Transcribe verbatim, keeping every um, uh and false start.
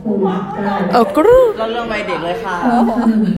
เออกรูเราเรื่องวัยเด็กเลยค่ะ